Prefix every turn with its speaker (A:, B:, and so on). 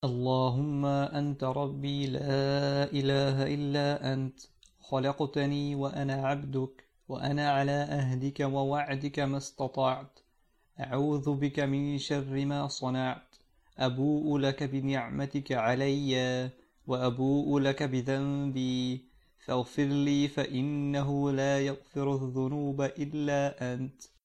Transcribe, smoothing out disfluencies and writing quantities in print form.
A: اللهم أنت ربي لا إله إلا أنت، خلقتني وأنا عبدك، وأنا على أهدك ووعدك ما استطعت، أعوذ بك من شر ما صنعت، أبوء لك بنعمتك علي وأبوء لك بذنبي، فاغفر لي فإنه لا يغفر الذنوب إلا أنت.